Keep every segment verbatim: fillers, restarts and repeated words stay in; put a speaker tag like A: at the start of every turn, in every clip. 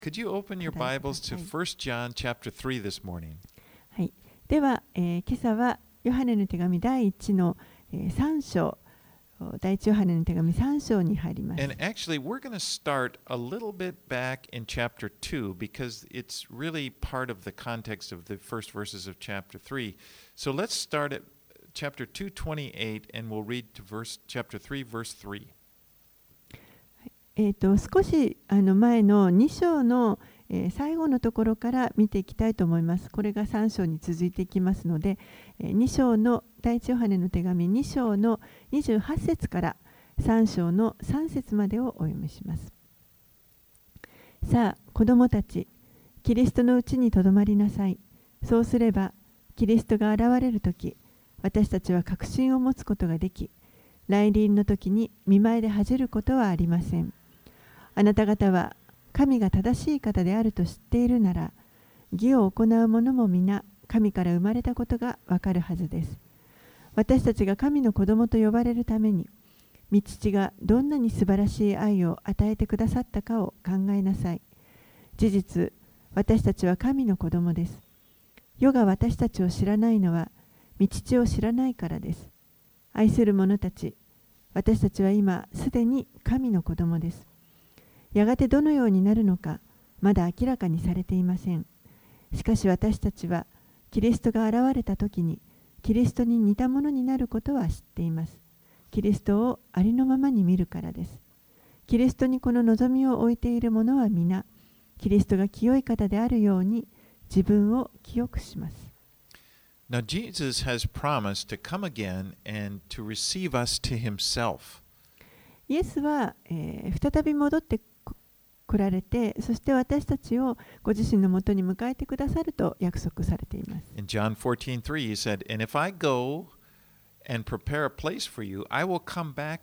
A: Could you open your
B: 課題
A: Bibles
B: くだ
A: to
B: さい。
A: First John chapter three this morning?
B: はい、では、えー今朝はヨハネの手紙第一の、えー、さん章、第一ヨハネの手紙さん章に入ります。
A: And actually, we're going to start a little bit back in chapter two because it's really part of the context of the first verses of chapter three. So let's start at chapter two twenty-eight and we'll read to verse chapter three verse three.
B: えー、と少しあの前のに章の、えー最後のところから見ていきたいと思います。これがさん章に続いていきますので、えーに章の第一ヨハネの手紙に章のにじゅうはち節からさん章のさん節までをお読みします。さあ、子供たち、キリストのうちにとどまりなさい。そうすれば、キリストが現れるとき、私たちは確信を持つことができ、来臨の時に見舞いで恥じることはありません。あなた方は神が正しい方であると知っているなら、義を行う者も皆神から生まれたことがわかるはずです。私たちが神の子供と呼ばれるために、御父がどんなに素晴らしい愛を与えてくださったかを考えなさい。事実、私たちは神の子供です。世が私たちを知らないのは、御父を知らないからです。愛する者たち、私たちは今すでに神の子供です。やがてどのようになるのか、まだ明らかにされていません。しかし私たちは、キリストが現れたときに、キリストに似たものになることは知っています。キリストをありのままに見るからです。キリストにこの望みを置いている者は皆、キリストが清い方であるように、自分を清くします。
A: Now, Jesus has promised to come again and to receive us to himself.
B: イエスは、えー再び戻って来られて、そして私たちをご自身のもとに迎えてくださると約束されています。
A: In John fourteen three, he said, And if I go and prepare a place for you, I will come back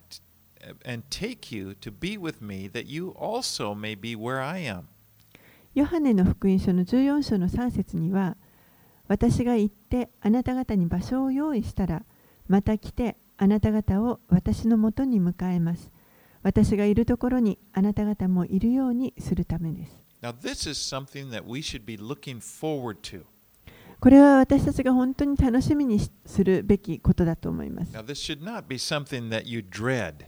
A: and take you to be with me, that you also may be where I am.
B: ヨハネの福音書のじゅうよん章のさん節には、私が行ってあなた方に場所を用意したら、また来てあなた方を私のもとに迎えます。私がいるところにあなた方もいるようにするためです。
A: Now, this is something that we should be looking forward to.
B: これは私たちが本当に楽しみにするべきことだと思います。
A: Now, this should not be something that you dread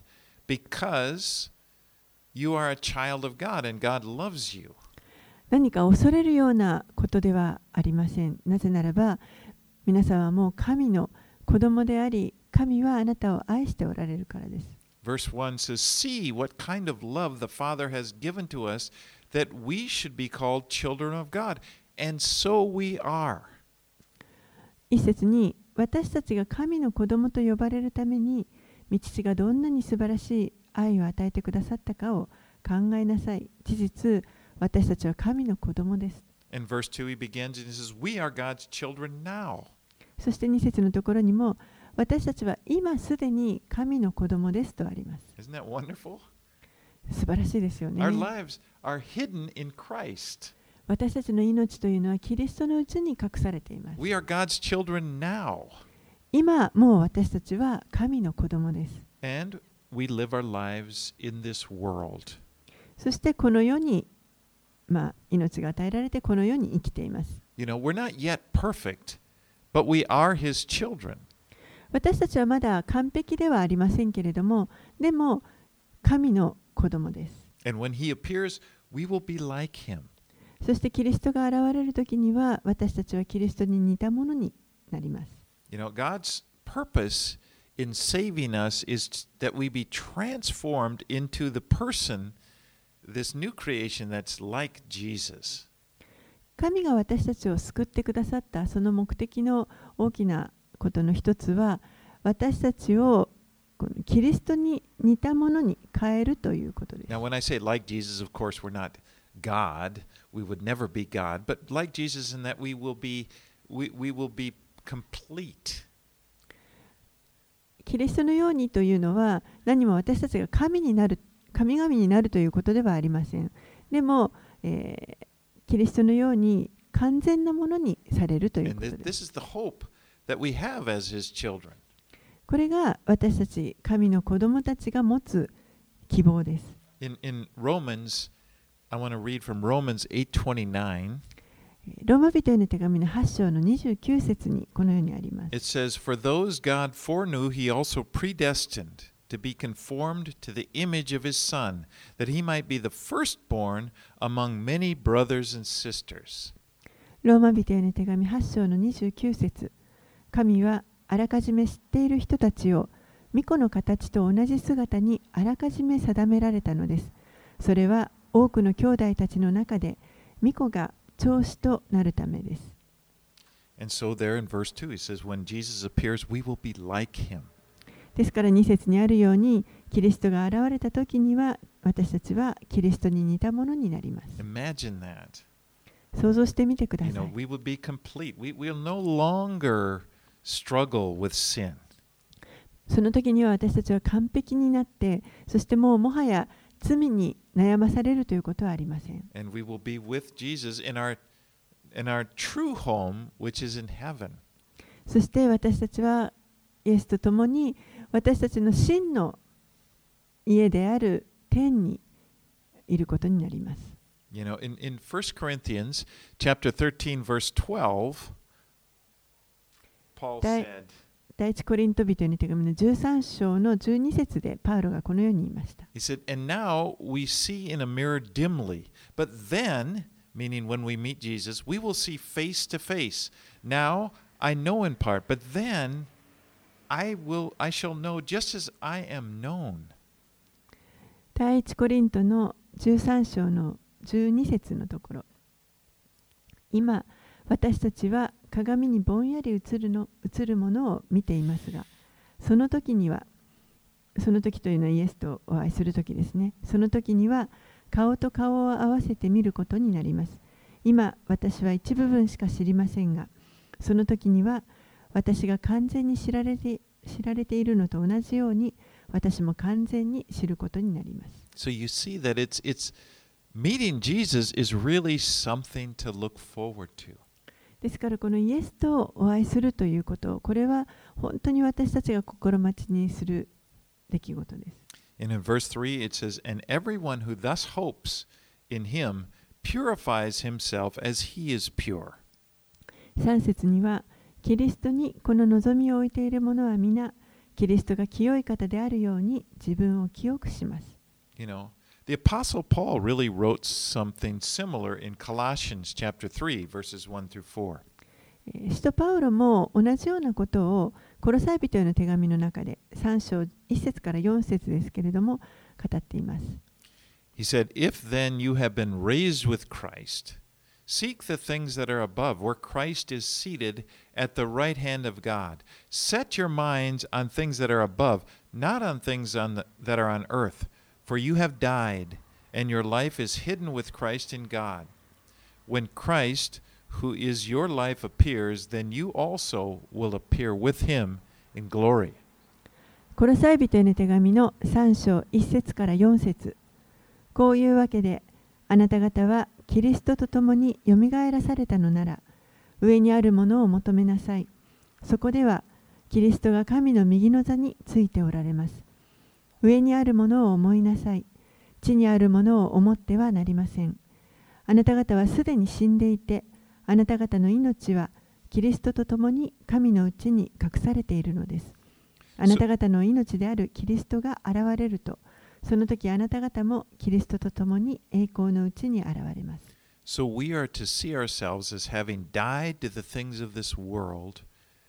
A: because you are a child of God and God loves you.
B: 何か恐れるようなことではありません。なぜならば、皆さんはもう神の子供であり、神はあなたを愛しておられるからです。
A: Verse one says, See what kind of love the Father has given to us, that we should be called children of God. And so we are.
B: 一節に、私たちが神の子供と呼ばれるために、御父がどんなに素晴らしい愛を与えてくださったかを考えなさい。事実、私たちは神の子供です。
A: In verse two, he begins and he says, We are God's children now.
B: そしてに節のところにも、私たちは今すでに神の子供ですとあります。
A: Isn't that wonderful?
B: 素晴らしいですよね。
A: Our lives are hidden in Christ.
B: 私たちの命というのはキリストのうちに隠されています。
A: We are God's children now.
B: 今もう私たちは神の子供です。
A: And we live our lives in this world.
B: そしてこの世に、まあ、命が与えられてこの世に生きています。
A: You know, we're not yet perfect, but we are His children.
B: 私たちはまだ完璧ではありませんけれども、でも神の子供です。
A: And when He appears, we will be like Him.
B: そしてキリストが現れるときには、私たちはキリストに似たものになります。
A: You know, God's purpose in saving us is that we be transformed into the person, this new creation that's like Jesus.
B: 神が私たちを救ってくださったその目的の大きなことの一つは、私たちをこのキリストに似たものに変えるということです。
A: Now, when I say like Jesus, of course, we're not God. We would never be God. But like Jesus in that we will be, we, we will be complete.
B: キリストのようにというのは、何も私たちが神になる、神々になるということではありません。でも、えー、キリストのように完全なものにされるという
A: And
B: こと
A: this,
B: です。
A: this is the hope that we have as His children.
B: これが私たち、神の子供たちが持つ希望です。
A: In, in Romans, I want to read from Romans eight twenty-nine.
B: ローマ人への手紙のはち章のにじゅうきゅう節にこのようにあります。
A: It says, For those God foreknew, he also predestined to be conformed to the image of his Son, that he might be the firstborn among many brothers and sisters.
B: ローマ人への手紙はち章のにじゅうきゅう節。神はあらかじめ知っている人たちを御子の形と同じ姿にあらかじめ定められたのです。それは多くの兄弟たちの中で御子が長子となるためです。
A: And so there in verse two, he says, When Jesus appears, we will be like him.
B: ですからに節にあるように、キリストが現れた時には私たちはキリストに似たものになります。
A: Imagine that.
B: 想像してみてくだ
A: You
B: さ
A: know,
B: い。
A: we would be complete. We, we'll no longer struggle with sin.
B: その時には私たちは完璧になって、そしてもうもはや罪に悩まされるということはありません。
A: And we will be with Jesus in our, in our true home, which is in heaven.
B: そして私たちはイエスと共に私たちの真の家である天にいることになります。
A: You know, in, in First Corinthians chapter thirteen, verse twelve, Paul
B: Dai-
A: said,
B: 第一コリント人への手紙のじゅうさん章のじゅうに節でパウロがこのように言いました。
A: he said, And now we see in a mirror dimly, but then, meaning when we meet Jesus, we will see face to face. Now I know in part, but then I will, I shall know just as I am known.
B: 第一コリントのじゅうさん章のじゅうに節のところ。今、私たちは鏡にぼんやり映るの、映るものを見ていますが、その時には、その時というのはイエスとお会いする時ですね。その時には顔と顔を合わせて見ることになります。今、私は一部分しか知りませんが、その時には私が完全に知られて、知られているのと同じように、私も完全に知ることになります。
A: So you see that it's, it's meeting Jesus is really something to look forward to.
B: ですからこのイエスとお会いするということ、これは本当に私たちが心待ちにする出来事です。
A: And in verse three it says, And everyone who thus hopes in him purifies himself as he is pure.
B: さん節には、キリストにこの望みを置いている者は皆、キリストが清い方であるように自分を清くします。
A: You know, the Apostle Paul really wrote something similar in Colossians chapter three, verses one through four.
B: 使徒パウロも同じようなことをコロサイ人への手紙の中でさん章いち節からよん節ですけれども語っています。
A: He said, If then you have been raised with Christ, seek the things that are above, where Christ is seated at the right hand of God. Set your minds on things that are above, not on things on the, that are on earth. For you have died, and your life is hidden with Christ in God. When Christ, who is your life, appears, then you also will appear with him in glory.
B: コロサイ人への手紙のさん章いち節からよん節。こういうわけで、あなた方はキリストと共によみがえらされたのなら、上にあるものを求めなさい。そこでは、キリストが神の右の座についておられます。上にあるものを思いなさい。地にあるものを思ってはなりません。あなた方はすでに死んでいて、あなた方の命はキリストと共に神のうちに隠されているのです。あなた方の命であるキリストが現れると、その時あなた方もキリストと共に栄光のうちに現れます。
A: So we are to see ourselves as having died to the things of this world,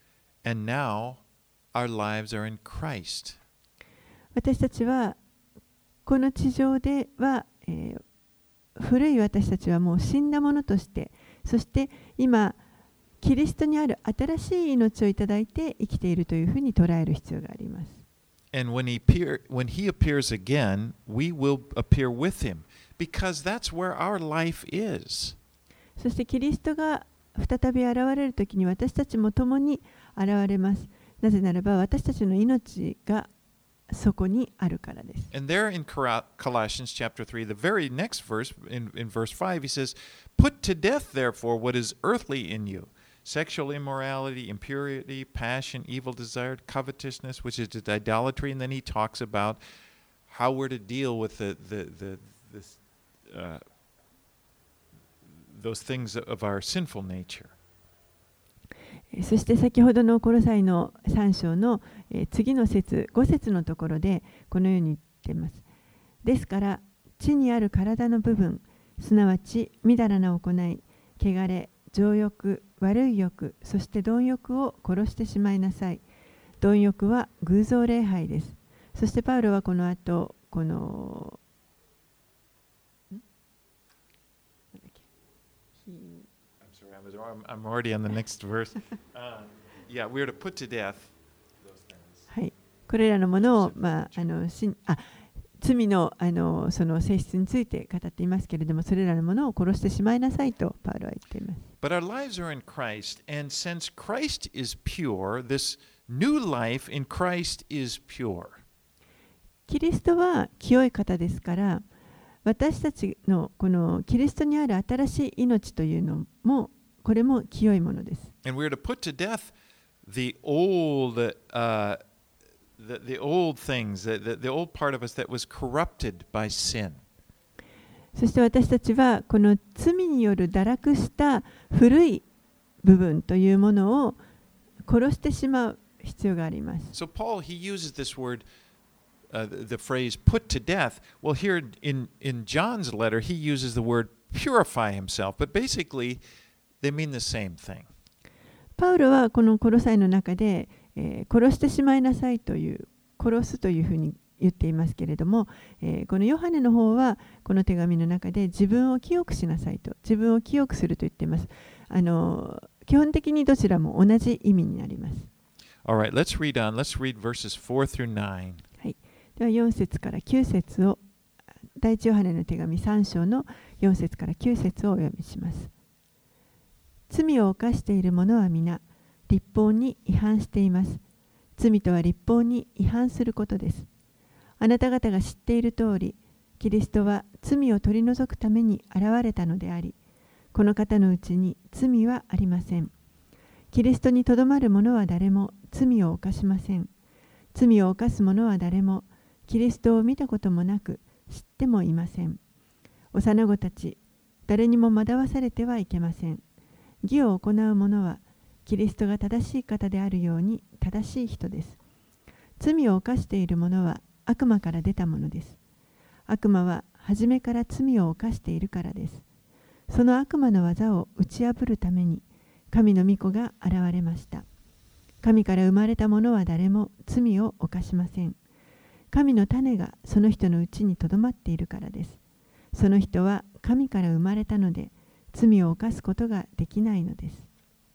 A: and now our lives are in Christ.
B: 私たちはこの地上では、えー、古い私たちはもう死んだものとして、そして今キリストにある新しい命をいただいて生きているというふうに捉える必要があります。
A: And when he, appear, when he appears again, we will appear with him, because that's where our life is.
B: そしてキリストが再び現れるときに私たちも共に現れます。なぜならば私たちの命がそこにあるからです。
A: And there in Colossians chapter three, the very next verse, in, in verse five, he says, Put to death, therefore, what is earthly in you, sexual immorality, impurity, passion, evil desire, covetousness, which is idolatry. And then he talks about how we're to deal with the, the, the, this, uh, those things of our sinful nature.
B: そして先ほどのコロサイのさん章の次の節、ご節のところでこのように言っています。ですから、地にある体の部分、すなわちみだらな行い、汚れ、情欲、悪い欲、そして貪欲を殺してしまいなさい。貪欲は偶像礼拝です。そしてパウロはこの後、この、
A: I'm sorry, I'm, I'm already on the next verse. Uh, yeah, we are to put to death those things.
B: はい、これらのものを、まあ、あのしあ罪の、あのその性質について語っていますけれども、それらのものを殺してしまいなさいとパウロは言っています。
A: But our lives are in Christ, and since Christ is pure, this new life in Christ is pure.
B: キリストは清い方ですから、私たちのこのキリストにある新しい命というのも、これも清いものです。
A: And we're to put to death the old, uh, the, the old things, the, the, the old part of us that was corrupted by sin.
B: そして私たちはこの罪による堕落した古い部分というものを殺してしまう必要があります。
A: So Paul, he uses this word, uh, the, the phrase put to death. Well, here in, in John's letter, he uses the word purify himself, but basically they mean the same thing.
B: パウロはこのコロサイの中で、えー、殺してしまいなさいという、殺すというふうに言っていますけれども、えー、このヨハネの方はこの手紙の中で自分を清くしなさいと、自分を清くすると言っています。あの基本的にどちらも同じ意味になります。
A: All right, let's read on. Let's read verses four through nine.
B: はい。ではよん節からきゅう節を、第一ヨハネの手紙さん章のよん節からきゅう節をお読みします。罪を犯している者は皆、律法に違反しています。罪とは律法に違反することです。あなた方が知っている通り、キリストは罪を取り除くために現れたのであり、この方のうちに罪はありません。キリストにとどまる者は誰も罪を犯しません。罪を犯す者は誰もキリストを見たこともなく知ってもいません。幼子たち、誰にも惑わされてはいけません。義を行う者はキリストが正しい方であるように正しい人です。罪を犯している者は悪魔から出たものです。悪魔は初めから罪を犯しているからです。その悪魔の技を打ち破るために神の御子が現れました。神から生まれた者は誰も罪を犯しません。神の種がその人のうちにとどまっているからです。その人は神から生まれたので罪を犯すことができないのです。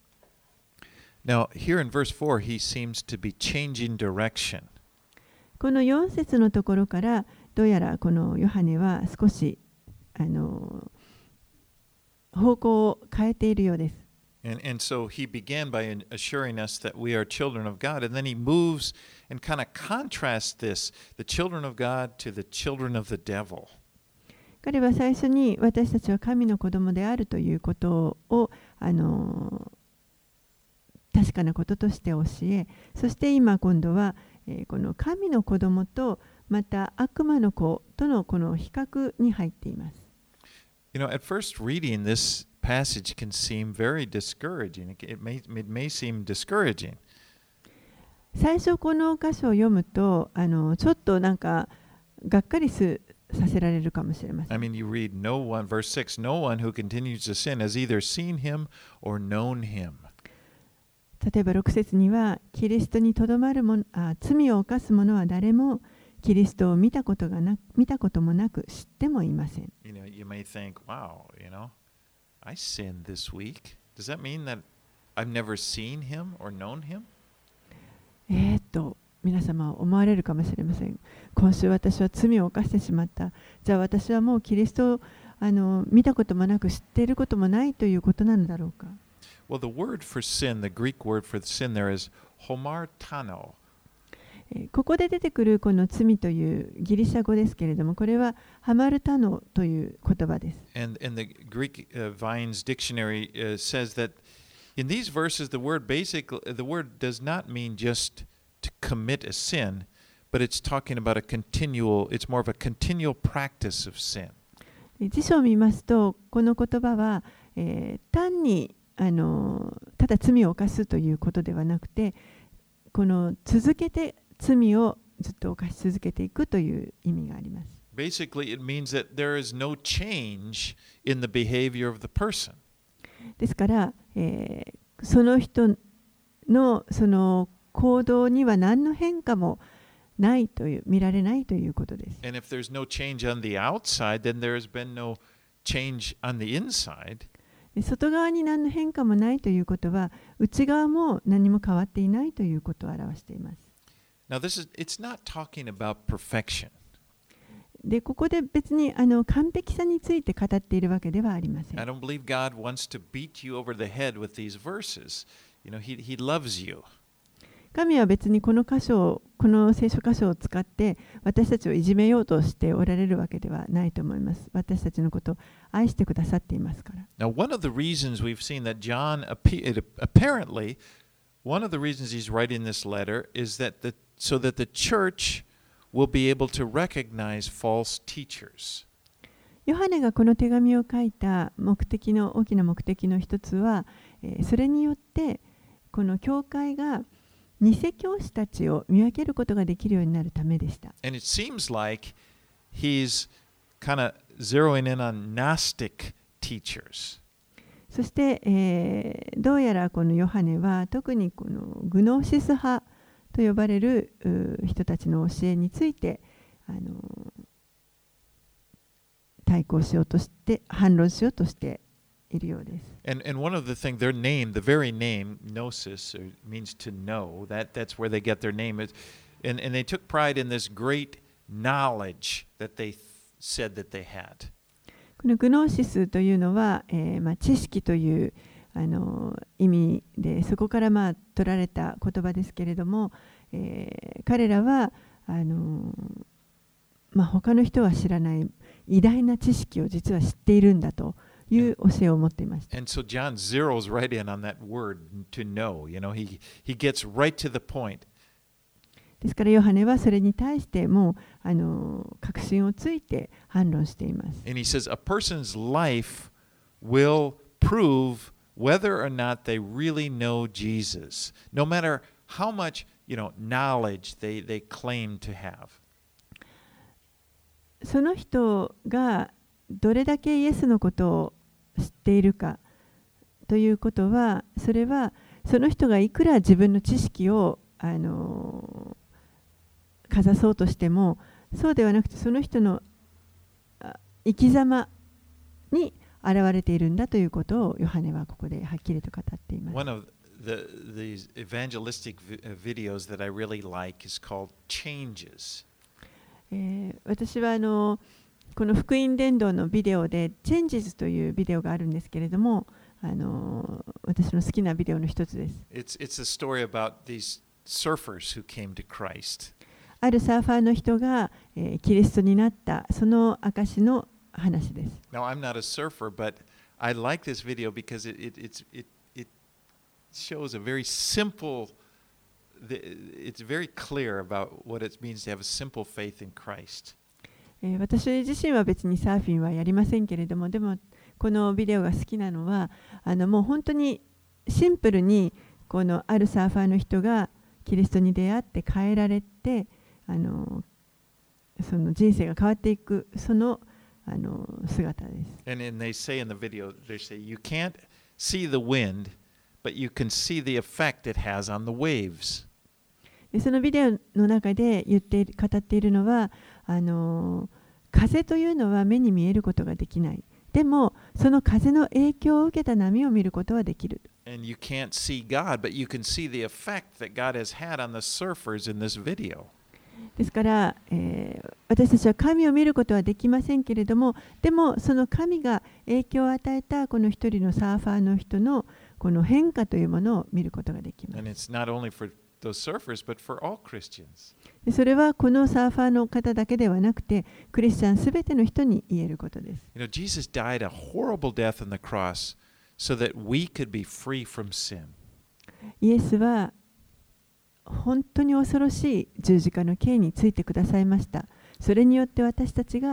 A: Now, here in verse four, he seems to be changing direction.
B: このよん節のところからどうやらこのヨハネは少しあの方向を変えているようです。
A: And, and so he began by assuring us that we are children of God, and then he moves and kind of contrasts this, the children of God to the children of the devil.
B: 彼は最初に私たちは神の子供であるということをあの確かなこととして教え、そして今今度は、えー、この神の子供とまた悪魔の子とのこの比較に入っています。
A: You know, at first reading this passage can seem very discouraging. It may, it may seem discouraging.
B: 最初この箇所を読むとあのちょっとなんかがっかりすさせられるかもしれません。
A: I mean, you read no one, verse six, no one who continues to sin has either seen him or known him.
B: 例えばろく節には、キリストにとどまるものあ、罪を犯す者は誰もキリストを見たことがな見たこともなく知ってもいません。
A: You know, you may think, wow, you know, I sinned this week. Does that mean that I've never seen him or known him?
B: えーっと、皆様思われるかもしれません。今週私は罪を犯してしまった。じゃあ私はもうキリストをあの見たこともなく知っていることもないということなのだろうか。
A: Well, the word for sin, the Greek word for sin there is homartano.
B: ここで出てくるこの罪というギリシャ語ですけれども、これはハマルタノという言葉です。
A: And, and the Greek uh, Vine's dictionary uh, says that in these verses, the word basically, the word does not mean just to commit a sin, but it's talking about a continual, it's more of a continual practice of sin.
B: 辞書を見ますと、この言葉は、えー、単にあのただ罪を犯すということではなくて、この続けて罪をずっと犯し続けていくという意味があります。
A: Basically, it means that there is no change in the behavior of the person.
B: ですから、えー、その人のその行動には何の変化もないという、見られないということです。
A: And if there's no change on the outside, then there has been no change on the inside.
B: 外側に何の変化もないということは、内側も何も変わっていないということを表しています。
A: Now, this is, it's not talking about perfection.
B: で、ここで別にあの完璧さについて語っているわけではありません。
A: I don't believe God wants to beat you over the head with these verses. You know, He, he loves you.
B: 神は別にこの箇所を、この聖書箇所を使って私たちをいじめようとしておられるわけではないと思います。私たちのことを愛してくださっていますから。
A: Now, one of the reasons we've seen that John, apparently, one of the reasons he's writing this letter is that the, so that the church will be able to recognize false teachers.
B: ヨハネがこの手紙を書いた目的の大きな目的の一つは、えー、それによってこの教会が偽教師たちを見分けることができるようになるためでした。
A: And it seems like he's kind of zeroing in on Gnostic teachers.
B: そして、えー、どうやらこのヨハネは特にこのグノーシス派と呼ばれる人たちの教えについてあの対抗しようとして反論しようとしているようです。
A: And, and one of the things, their name, the very name, gnosis, or means to know, that, that's where they get their name. Is, and, and they took pride in this great knowledge that they th- said that they had.
B: このグノーシスというのは、えーまあ、知識というあの意味で、そこからまあ取られた言葉ですけれども、えー、彼らはあの、まあ、他の人は知らない偉大な知識を実は知っているんだという教えを持っていました。
A: And so John zeroes right in on that word to know. You know, he, he gets right to the point.
B: ですからヨハネはそれに対してもうあの確信をついて反論しています。
A: And he says, a person's life will prove whether or not they really know Jesus, no matter how much, you know, knowledge they, they claim to have.
B: その人がどれだけイエスのことを知っているかということは、それはその人がいくら自分の知識をあのかざそうとしても、そうではなくてその人の生き様に現れているんだということをヨハネはここではっきりと語っています。
A: One of the these evangelistic videos that I really like is called Changes.
B: えー、私はあのこの福音伝道のビデオで Changes というビデオがあるんですけれども、あの私の好きなビデオの一つです。
A: It's, it's a story about these surfers who came to Christ.
B: あるサーファーの人が、えー、キリストになったその証の話です。
A: Now, I'm not a surfer, but I like this video because it, it, it's, it, it shows a very simple, it's very clear about what it means to have a simple faith in Christ.
B: えー、私自身は別にサーフィンはやりませんけれども、でもこのビデオが好きなのは、あのもう本当にシンプルにこのあるサーファーの人がキリストに出会って変えられて、あのその人生が変わっていくそのあの姿です。
A: And, and they say in the video, they say, you can't see the wind, but you can see the effect it has on the waves.
B: でそのビデオの中で言って語っているのは、あの風というのは目に見えることができない。でもその風の影響を受けた波を見ることはできる。
A: And you can't see God, but you can see the effect that God has had on the surfers in this video.
B: ですから、えー、私たちは神を見ることはできませんけれども、でもその神が影響を与えたこの一人のサーファーの人のこの変化というものを見ることができます。
A: And it's not only for those surfers, but for all Christians.
B: でそれはこのサーファーの方だけではなくて、クリスチャンすべての人に言えることです。
A: You know, Jesus died a horrible death on the cross so that we could be free from sin.
B: イエスは本当に恐ろしい十字架の刑についてくださいました。それによって私たちが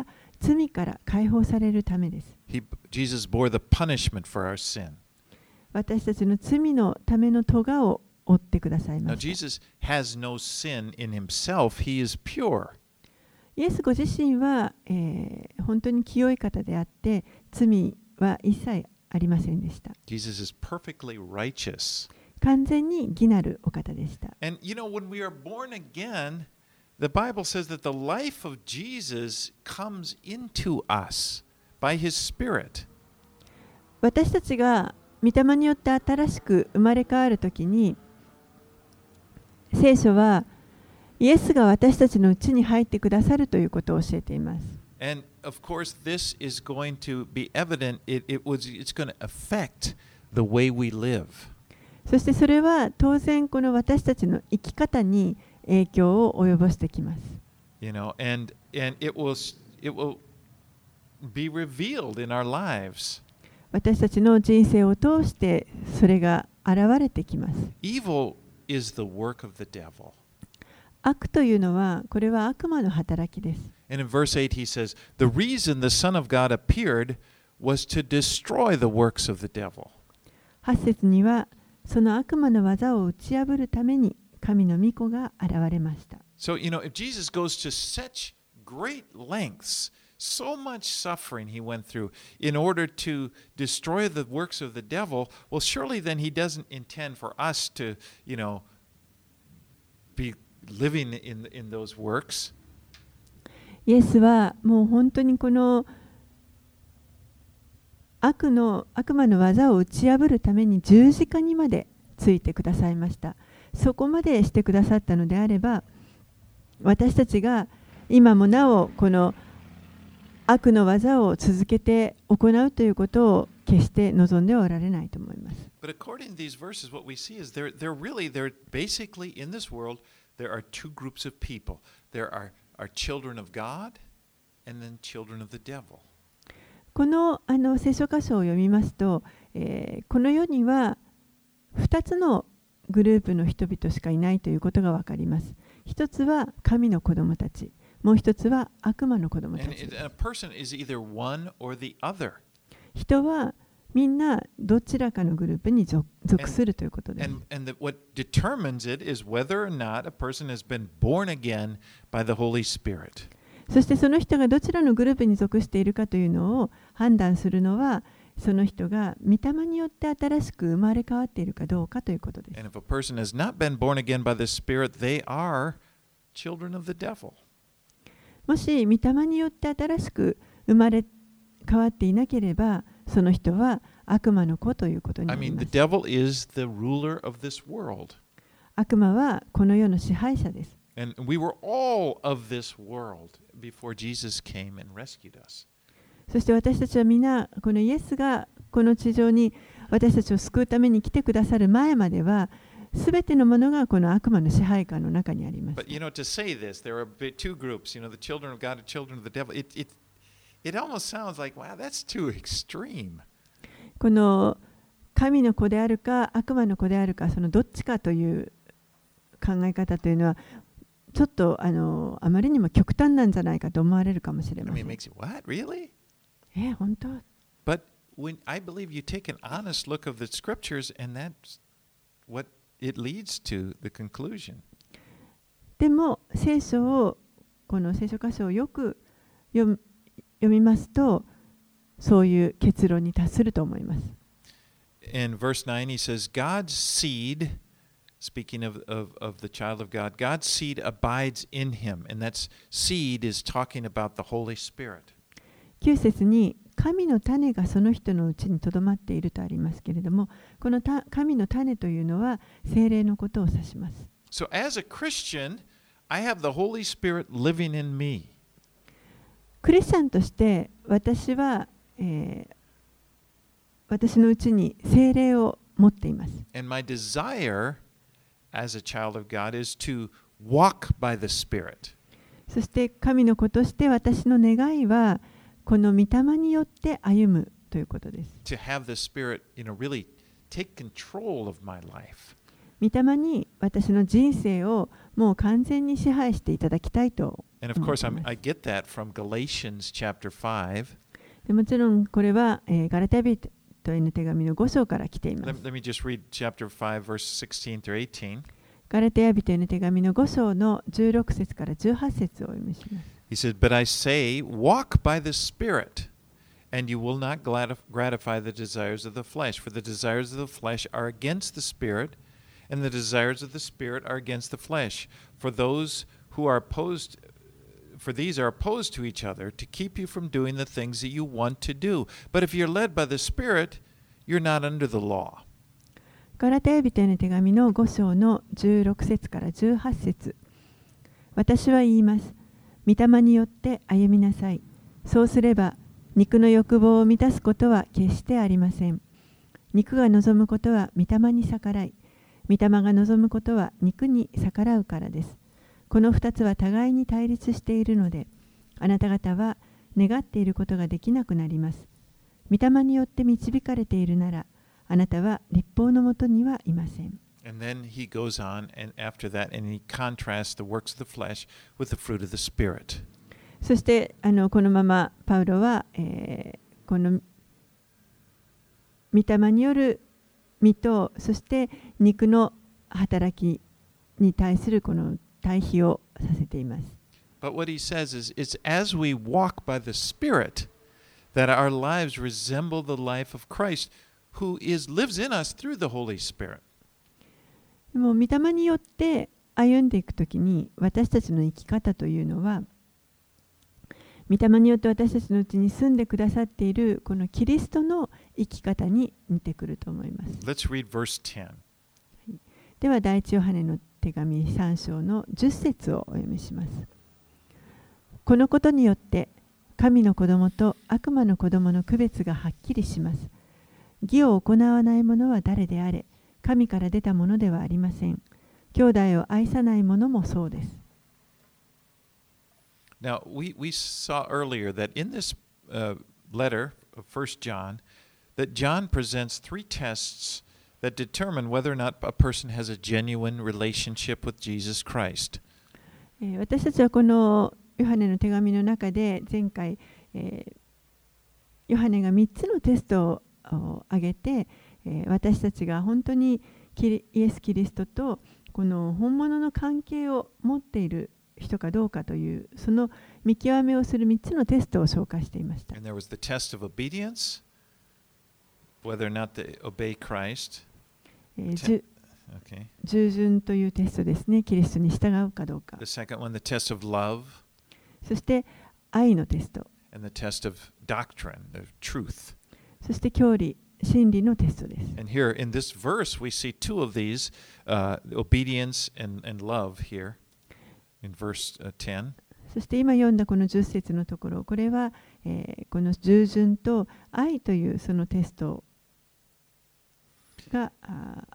B: 罪から解放されるためです。
A: He, Jesus bore the punishment for our sin.
B: 私たちの罪のための咎を負ってください
A: Now,
B: ました。
A: Jesus has no sin in himself. He is pure.
B: イエスご自身は、えー本当に清い方であって、罪は一切ありませんでした。
A: Jesus is perfectly righteous.
B: 完全に義なるお方でした。
A: And you know, when we are born again, the Bible says that the life of Jesus comes into us by his Spirit.
B: 私たちが御霊によって新しく生まれ変わるときに、聖書はイエスが私たちのうちに入ってくださるということを教えています。
A: And of course, this is going to be evident. It, it was, it's going to affect the way we live.
B: そしてそれは当然この私たちの生き方に影響を及ぼしてきます。
A: You know, and, and it will, it will be revealed in our lives.
B: 私たちの人生を通してそれが現れてきます。
A: Evil is the work of the devil.
B: 悪というのは、これは悪魔の働きです。
A: And in verse eight, he says, the reason the Son of God appeared was to destroy the works of the devil.
B: はち節には、その悪魔の技を打ち破るために神の御子が現れました。
A: So, you know, if Jesus goes to such great lengths, so much suffering he went through in order to destroy the works of the devil, well, surely then he doesn't intend for us to, you know, be living in, in those works.
B: イエスはもう本当にこの悪の悪魔の技を打ち破るために十字架にまでついてくださいました。そこまでしてくださったのであれば、私たちが今もなおこの悪の技を続けて行うということを決して望んではおられないと思います。
A: But according to these verses, what we see is they're, they're really, they're basically in this world, there are two groups of people. There are, are children of God and then children of the devil.
B: この、あの聖書箇所を読みますと、えーこの世にはふたつのグループの人々しかいないということがわかります。一つは神の子供たち、もう一つは悪魔の子供た
A: And
B: ち。
A: it- a person is either one or the other.
B: 人はみんなどちらかのグループに属属するということです。
A: And, and the, what determines it is whether or not a person has been born again by the Holy Spirit.
B: そしてその人がどちらのグループに属しているかというのを判断するのは、その人が御霊によって新しく生まれ変わっているかどうかということです。
A: And if a person has not been born again by the Spirit, they are children of the devil.
B: もし御霊によって新しく生まれ変わっていなければ、その人は悪魔の子ということに
A: I
B: なり
A: mean,
B: ま
A: the
B: す。
A: devil is the ruler of this world.
B: 悪魔はこの世の支配者です。
A: And we were all of this world before Jesus came and rescued us.
B: そして私たちは皆、このイエスがこの地上に私たちを救うために来てくださる前までは、すべてのものがこの悪魔の支配下の中にあります。
A: But you know, to say this, there are bit- two groups, you know, the children of God and children of the devil. It, it, it almost sounds like, wow, that's too extreme.
B: この神の子であるか悪魔の子であるか、そのどっちかという考え方というのは、ちょっとあのあまりにも極端なんじゃないかと思われるかもしれ
A: I
B: ませ
A: mean,
B: ん。
A: it makes you, what, really?
B: え、本当？
A: But when I believe you take an honest look of the scriptures, and that's what it leads to the conclusion.
B: でも聖書をこの聖書箇所をよく読み、読みますと、そういう結論に達すると思います。
A: In verse nine, he says, God's seed, speaking of, of, of the child of God, God's seed abides in him. And that's seed is talking about the Holy Spirit.
B: きゅう節に神の種がその人のうちにとどまっているとありますけれども、このた神の種というのは聖霊のことを指します。
A: So as a Christian, I have the Holy Spirit living in me.
B: クリスチャンとして私は、えー私のうちに聖霊を持っています。
A: And my desire as a child of God is to walk by the Spirit.
B: そして神の子として私の願いはこの御霊によって歩むということです。
A: To have the Spirit, you know, really take control of my life.
B: 御御霊に私の人生をもう完全に支配していただきたいと
A: And of
B: 思っ
A: course,
B: てい
A: I'm,
B: ま
A: I
B: す。
A: get that from Galatians chapter five.
B: でもちろんこれは、えーガラテヤ人への手紙のご章から来ていま
A: Let,
B: す。
A: let me just read chapter five, verse sixteen through eighteen.
B: ガラテヤ人への手紙のご章のじゅうろく節からじゅうはち節をお読みします。
A: He says, But I say, walk by the Spirit, and you will not gratif- gratify the desires of the flesh. For the desires of the flesh are against the Spirit, and the desires of the Spirit are against the flesh. For those who are opposed, for these are opposed to each other to keep you from doing the things that you want to do. But if you're led by the Spirit, you're not under the law.
B: ガラテヤ人への手紙のご章のじゅうろく節からじゅうはち節。私は言います。御霊によって歩みなさい。そうすれば、肉の欲望を満たすことは決してありません。肉が望むことは御霊に逆らい、御霊が望むことは肉に逆らうからです。この二つは互いに対立しているので、あなた方は願っていることができなくなります。御霊によって導かれているなら、あなたは律法のもとにはいません。
A: And then he goes on, and after that, and he contrasts the works of the flesh with the fruit of the Spirit.
B: そしてあのこのままパウロは、えー、この御霊による身とそして肉の働きに対するこの対比をさせています。
A: But what he says is, it's as we walk by the Spirit that our lives resemble the life of Christ, who is lives in us through the Holy Spirit.
B: でも御霊によって歩んでいくときに私たちの生き方というのは御霊によって私たちのうちに住んでくださっているこのキリストの生き方に似てくると思います。
A: Let's read verse ten.
B: では第一ヨハネの手紙さん章のじゅっ節をお読みします。このことによって神の子供と悪魔の子供の区別がはっきりします。義を行わない者は誰であれ、神から出たものではありません。兄弟を愛さない者もそうです。
A: Now, we, we saw earlier that in this uh, letter of First John, that John presents three tests that determine whether or not a person has a genuine relationship with Jesus Christ.
B: えー私たちはこのヨハネの手紙の中で前回、えーヨハネがみっつのテストを挙げて、えー私たちが本当にキリイエス・キリストとこの本物の関係を持っている人かどうかというその見極めをするみっつのテストを紹介していました。
A: And there was the test of obedience, whether or not they obey Christ.
B: えーじゅ
A: Okay.
B: 従順というテストですね。キリストに従うかどうか。
A: The second one, the test of love,
B: そして愛のテスト。
A: and the test of doctrine, of truth.
B: そして教理、真理のテストです。
A: And here in this verse, we see two of these, uh, obedience and, and love here in verse uh, ten.
B: そして今読んだこのじゅっ節のところ、これは、えーこの従順と愛というそのテストがあ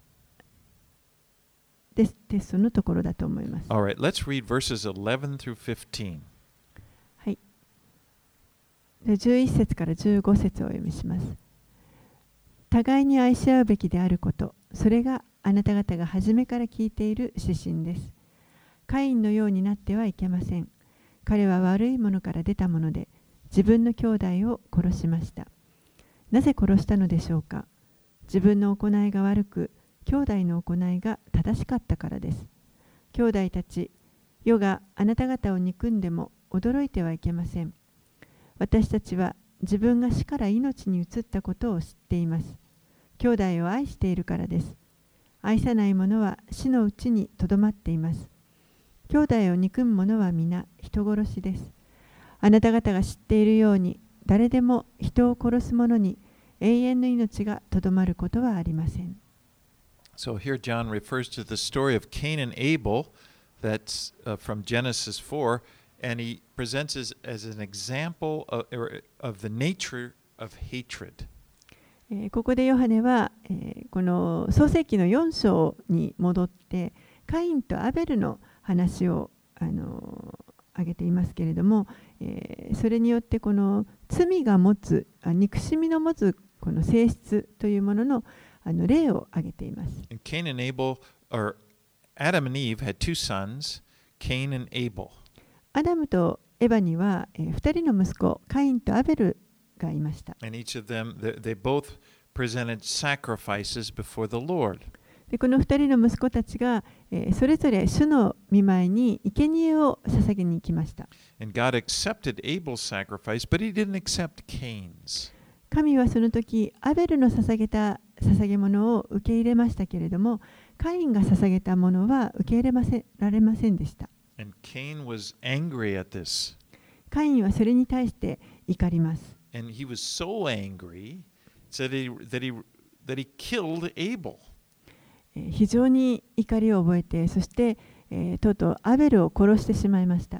B: テステストのところだと思います。
A: All right, let's read verses eleven through fifteen.
B: はい。でじゅういち節からじゅうご節をお読みします。互いに愛し合うべきであること、それがあなた方が初めから聞いている指針です。カインのようになってはいけません。彼は悪いものから出たもので、自分の兄弟を殺しました。なぜ殺したのでしょうか。自分の行いが悪く、兄弟の行いが正しかったからです。兄弟たち、世があなた方を憎んでも驚いてはいけません。私たちは自分が死から命に移ったことを知っています。兄弟を愛しているからです。愛さない者は死のうちにとどまっています。兄弟を憎む者は皆人殺しです。あなた方が知っているように、誰でも人を殺す者に永遠の命がとどまることはありません。
A: So here John refers to the story of Cain and Abel that's uh, from Genesis four, and he presents it as an example of, of the nature of hatred.
B: えーここでヨハネは、えーこの創世記のよん章に戻ってカインとアベルの話を、あのー挙げていますけれども、えーそれによってこの罪が持つあ憎しみの持つこの性質というものの、あの例を挙げています。
A: And Cain and Abel or Adam and Eve had two sons, Cain and Abel.
B: アダムとエバには、えー、ふたりの息子、カインとアベルがいました。
A: And each of them, they, they both presented sacrifices before the Lord.
B: でこのふたりの息子たちが、えー、それぞれ主の御前に生贄を捧げに行きました。
A: And God accepted Abel's sacrifice, but he didn't accept Cain's.
B: 神はその時、アベルの捧げた捧げ物を受け入れましたけれども、カインが捧げたものは受け入れませられませんでした。
A: And Cain was angry at this.
B: カインはそれに対して怒ります。
A: And he was so angry that he, that he, that he killed Abel.
B: 非常に怒りを覚えて、そして、えー、とうとうアベルを殺してしまいました。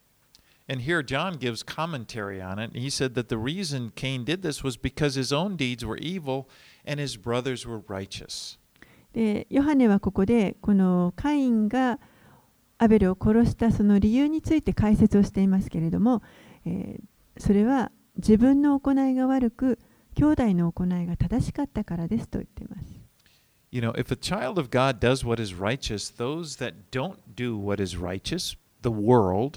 A: And here John gives commentary on it. He said that the reason Cain did this was because his own deeds were evil and his brothers were righteous.
B: で、ヨハネはここでこのカインがアベルを殺したその理由について解説をしていますけれども、えー、それは自分の行いが悪く、兄弟の行いが正しかったからですと言っています。
A: You know, if a child of God does what is righteous, those that don't do what is righteous, the world,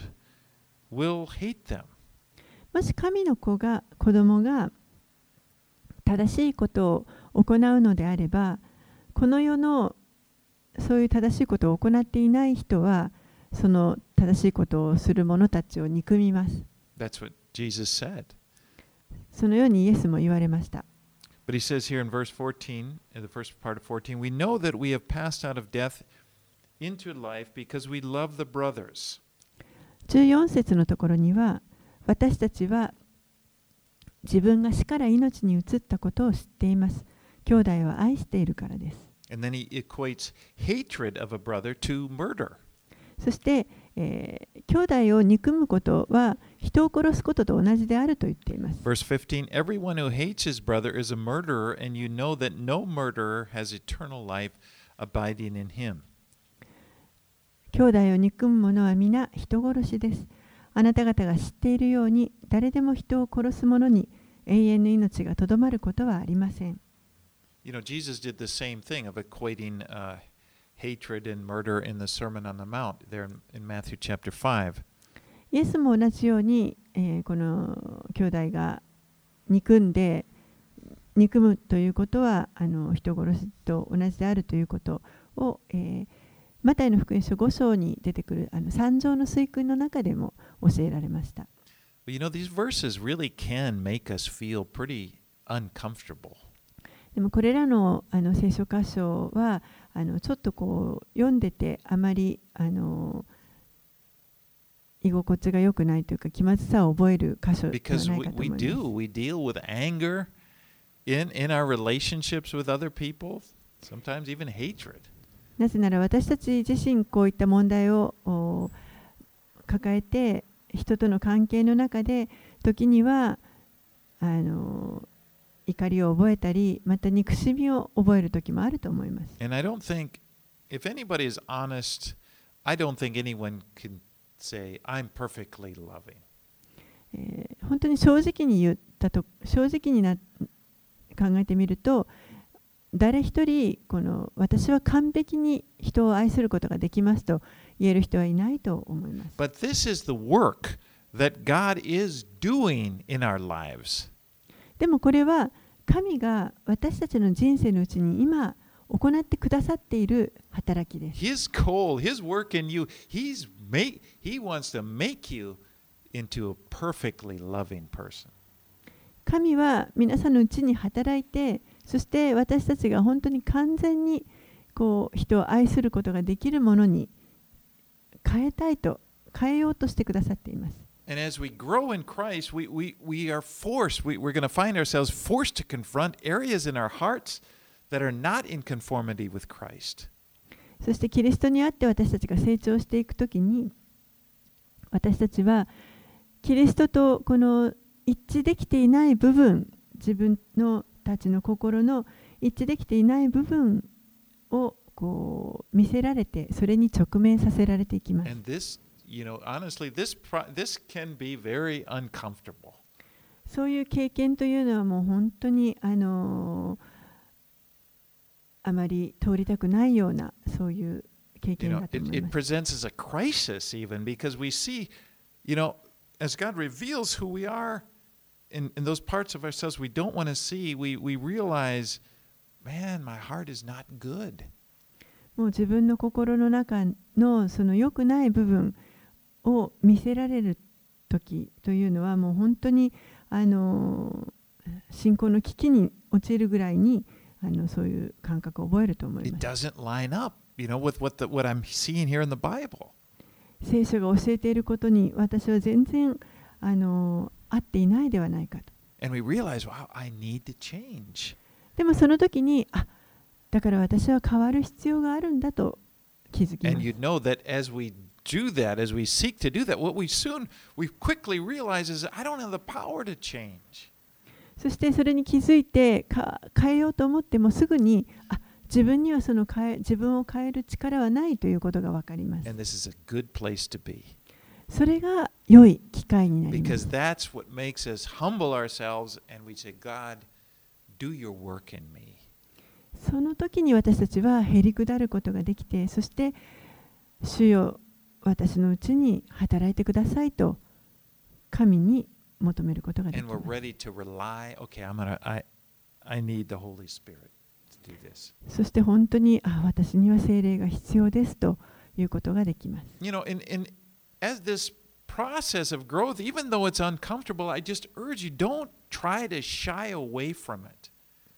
A: will hate them.
B: もし神の子が子供が正しいことを行うのであれば、この世のそういう正しいことを行っていない人は、その正しいことをする者たちを憎みます。
A: That's what Jesus said.
B: そのようにイエスも言われました。
A: But he says here in verse fourteen, in the first part of fourteen, we know that we have passed out of death into life because we love the brothers.
B: じゅうよん節のところには、私たちは自分が死から命に移ったことを知っています。兄弟を愛しているからです。
A: And then he equates hatred of a brother to murder.
B: そして、えー、兄弟を憎むことは人を殺すことと同じであると言っています。
A: Verse fifteen, everyone who hates his brother is a murderer, and you know that no murderer has eternal life abiding in him.
B: 兄弟を憎む者は皆人殺しです。あなた方が知っているように、誰でも人を殺す者に永遠の命がとどまることはありません。
A: You know, Jesus did the same thing of equating uh, hatred and murder in the Sermon on the Mount there in, in Matthew chapter five.
B: イエスも同じように、えー、この兄弟が憎んで憎むということはあの人殺しと同じであるということを、えー、マタイの福音書ご章に出てくるあの三条の水訓の中でも教えられました。
A: But you know, these verses really can make us feel pretty uncomfortable.
B: でもこれらの、あの聖書箇所はあのちょっとこう読んでてあまりあの居心地が良くないというか気まずさを覚える箇所ではないかと思います。
A: Because we, we do, we deal with anger in, in our relationships with other people, sometimes even hatred.
B: なぜなら私たち自身こういった問題を抱えて人との関係の中で時にはあの怒りを覚えたりまた憎しみを覚える時もあると思います。
A: And I don't think, if anybody is honest, I don't think anyone can say, I'm perfectly loving.
B: えー、本当に正直に言ったと正直にな考えてみると誰一人この私は完璧に人を愛することができますと言える人はいないと思います。
A: But this is the work that God is doing in our lives.
B: でもこれは神が私たちの人生のうちに今行ってくださっている働きです。
A: His goal, His work in you, He's make, He wants to make you into a perfectly loving person.
B: 神は皆さんのうちに働いて、そして私たちが本当に完全にこう人を愛することができるものに変えたいと、変えようとしてくださっています。
A: And as we grow in Christ, we, we, we are forced, we, we're going to find ourselves forced to confront areas in our hearts that are not in conformity with Christ.
B: そしてキリストにあって私たちが成長していくときに、私たちはキリストとこの一致できていない部分、自分のたちの心の一致できていない部分をこう見せられて、それに直面させられていきます。
A: And this, you know, honestly, this, this can be very uncomfortable. そう
B: いう経験というのはもう本当にあのあまり通りたくないようなそういう経
A: You
B: 験
A: know,
B: だと
A: it,
B: 思い
A: it
B: ます。
A: presents as a crisis even because we see, you know, as God reveals who we are in, in those parts of ourselves we don't want to see, we, we realize, man, my heart is not good.
B: もう自分の心の中のその良くない部分を見せられる時というのはもう本当にあの信仰の危機に陥るぐらいにあのそういう感覚を覚えると思い
A: It
B: ます。
A: doesn't line up, you know, with what, the, what I'm seeing here in the Bible.
B: 聖書が教えていることに私は全然あの合っていないではないかと。
A: And we realize, wow, I need to change.
B: でもその時にあだから私は変わる必要があるんだと気づきま
A: And
B: す。
A: you know that as we do that, as we seek to do that, what we soon, we quickly realize is I don't have the power to change.
B: そしてそれに気づいてか変えようと思ってもすぐにあ自分にはその変え自分を変える力はないということが分かります。
A: And this is a good place to be.
B: それが良い機会になりま
A: Because
B: す。
A: that's what makes us humble ourselves and we say, God, do your work in me.
B: その時に私たちはへりくだることができて、そして主よ私のうちに働いてくださいと神に求めることができ
A: And
B: ま
A: we're
B: す。
A: ready to rely, okay, I'm gonna, I, I need the Holy Spirit to do this.
B: そして本当にあ私には聖霊が必要ですということができます。
A: You know, in, in, as this process of growth, even though it's uncomfortable, I just urge you, don't try to shy away from it.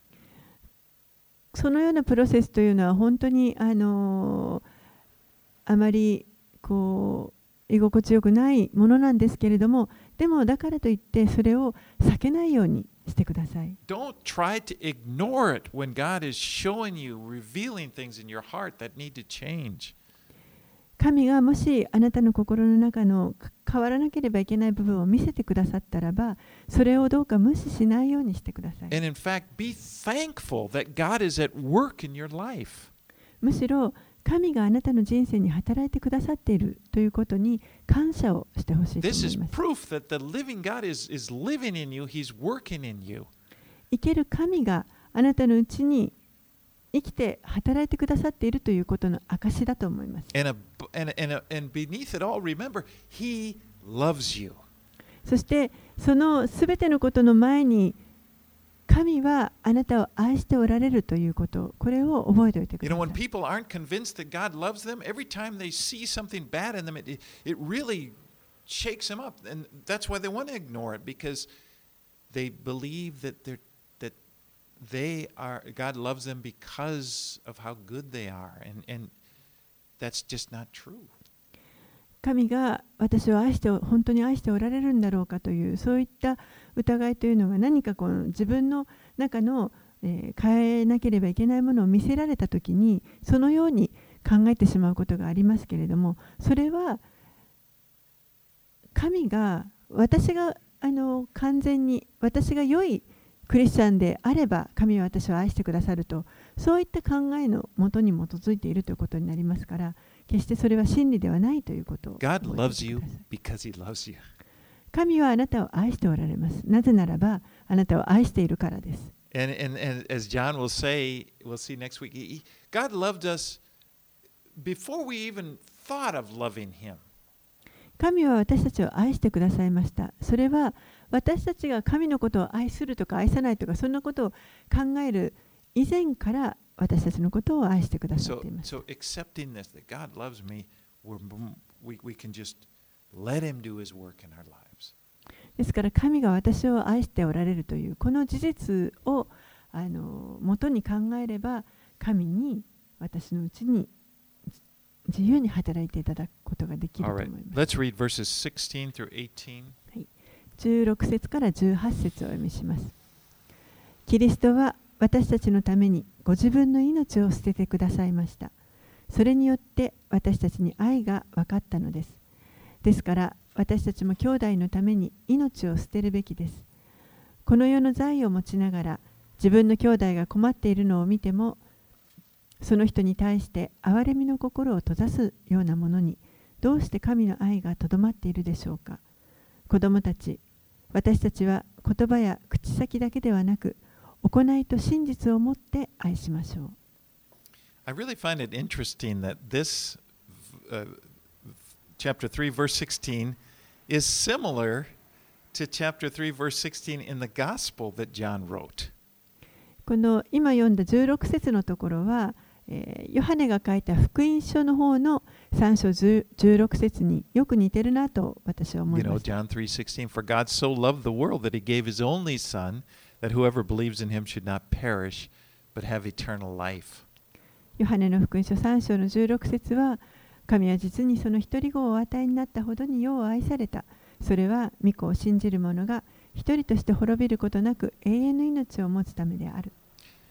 B: そのようなプロセスというのは本当にあのあまりこう居心地よくないものなんですけれども、でもだからといってそれを避けないようにしてください。
A: Don't try to ignore it when God is showing you, revealing things in your heart that need to change.
B: 神がもしあなたの心の中の変わらなければいけない部分を見せてくださったらば、それをどうか無視しないようにしてください。
A: And in fact, be thankful that God is at work in your life.
B: むしろ神があなたの人生に働いてくださっているということに感謝をしてほしいと
A: This
B: 思
A: is
B: います。
A: proof that the living God is, is living in you, He's working in you.
B: 生ける神があなたのうちに生きて働いてくださっているということの証だと思います。
A: And, a, and, and, a, and beneath it all, remember, He loves you.
B: そしてそのすべてのことの前に神はあなたを愛しておられるということ、これを覚えておいてく
A: You
B: だ
A: know,
B: さ
A: when
B: い。
A: people aren't convinced that God loves them, every time they see something bad in them, it, it really shakes them up. And that's why they want to ignore it, because they believe that they're that they are God loves them because of how good they are. And, and that's just not true.
B: 神が私を愛して本当に愛しておられるんだろうかというそういった疑いというのが何かこの自分の中の、えー、変えなければいけないものを見せられたときにそのように考えてしまうことがありますけれども、それは神が私があの完全に私が良いクリスチャンであれば神は私を愛してくださると、そういった考えのもとに基づいているということになりますから、決してそれは真理ではないということを覚えて
A: God
B: おいて
A: loves
B: く
A: you
B: ださい。
A: because He loves you.
B: 神はあなたを愛しておられます。なぜならばあなたを愛しているからです。
A: And, and, and as John will say, we'll see next week, he, God loved us before we even thought of loving Him.
B: 神は私たちを愛してくださいました。それは私たちが神のことを愛するとか愛さないとかそんなことを考える以前から私たちのことを愛してくださっ
A: So,
B: ています。
A: so accepting this, that God loves me, we're, we, we can just let Him do His work in our lives.
B: ですから神が私を愛しておられるというこの事実をあの元に考えれば神に私のうちに自由に働いていただくことができると
A: All
B: 思
A: right,
B: います。
A: let's read verses sixteen through eighteen.
B: じゅうろく節からじゅうはち節をお読みします。キリストは私たちのためにご自分の命を捨ててくださいました。それによって私たちに愛が分かったのです。ですから私たちも兄弟のために命を捨てるべきです。この世の財を持ちながら自分の兄弟が困っているのを見てもその人に対して憐れみの心を閉ざすようなものにどうして神の愛がとどまっているでしょうか。子供たち、私たちは言葉や口先だけではなく行いと真実をもって愛しましょう。
A: I really find it interesting that this uh, chapter three, verse sixteen is similar to chapter three, verse sixteen in the gospel that John wrote.
B: この今読んだじゅうろく節のところは、えーヨハネが書いた福音書の方のさん章じゅうろく節によく似てるなと私は思
A: You
B: いま
A: know,
B: した。
A: John three sixteen, for God so loved the world that he gave his only son, that whoever believes in him should not perish, but have eternal life.
B: ヨハネの福音書さん章のじゅうろく節は、神は実にその一人子をお与えになったほどに世を愛された。それは御子を信じる者が一人として滅びることなく永遠の命を持つためである。